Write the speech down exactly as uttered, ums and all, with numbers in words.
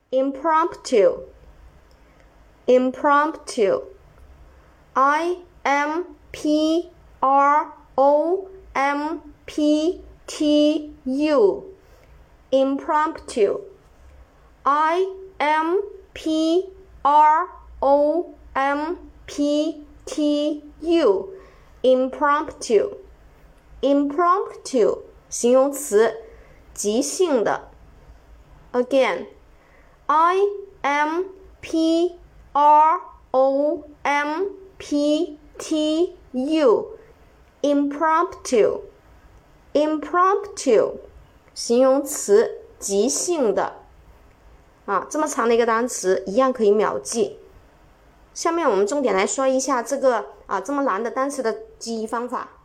impromptu impromptu I M P R O M P T U impromptu I M P R O M P T U impromptu impromptu 形容词，即兴的。 Again I M P R O M P T U impromptu impromptu 形容词，即兴的。啊，这么长的一个单词一样可以秒记。下面我们重点来说一下这个啊这么难的单词的记忆方法。